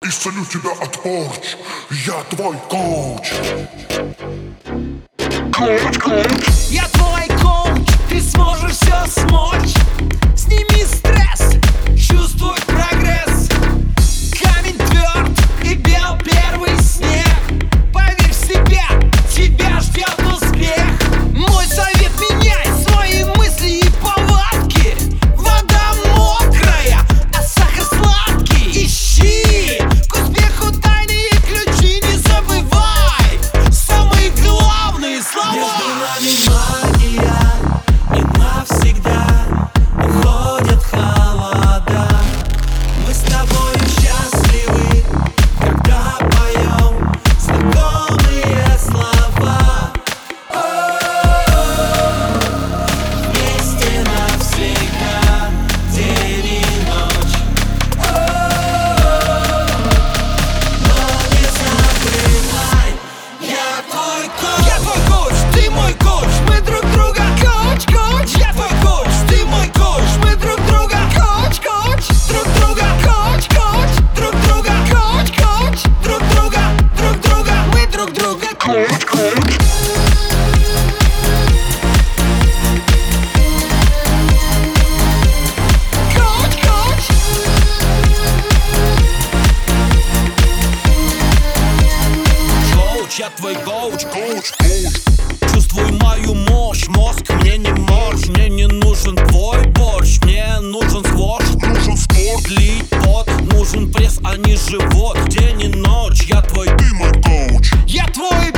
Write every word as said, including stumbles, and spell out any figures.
исцелю тебя от порч. Я твой коуч. Коуч, коуч. Я твой коуч, ты сможешь все смочь. Сними стресс, чувствуй прогресс. Камень тверд и бел первый снег. Поверь в себя, тебя ждет успех. Мой совет: меняй свои мысли и повадки. Вода мокрая, а сахар сладкий. Ищи к успеху тайные ключи, не забывай самые главные слова. Между нами магия, и навсегда уходят холода. Мы с тобой счастливы, когда поем знакомые слова. О-о-о, вместе навсегда, день и ночь. О-о-о, но не забывай, я твой коуч. Я твой коуч, ты мой коуч, мы друг друга коуч, коуч. Я твой коуч, ты мой коуч, мы друг друга коуч, коуч. Друг друга коуч, коуч, друг друга коуч, коуч. Друг друга, друг друга, мы друг друга коуч, коуч. Коуч, коуч. Коуч, я твой коуч. Коуч, коуч. Чувствуй мою мощь, мозг мне не морщ. Мне не нужен твой борщ, мне нужен сквош. Нужен спорт. Лить пот, нужен пресс, а не живот. День и ночь, я твой. Ты мой коуч. Я твой